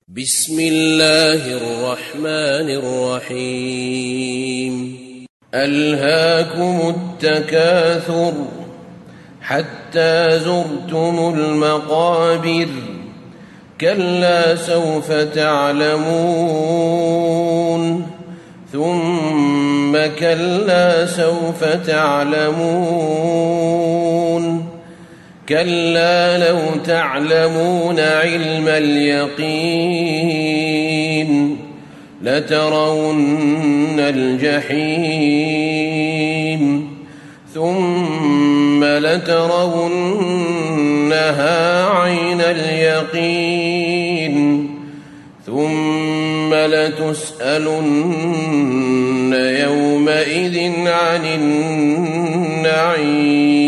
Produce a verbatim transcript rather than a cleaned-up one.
بسم الله الرحمن الرحيم ألهاكم التكاثر حتى زرتم المقابر كلا سوف تعلمون ثم كلا سوف تعلمون كلا لو تعلمون علم اليقين لترون الجحيم ثم لترونها عين اليقين ثم لتسألن يومئذ عن النعيم.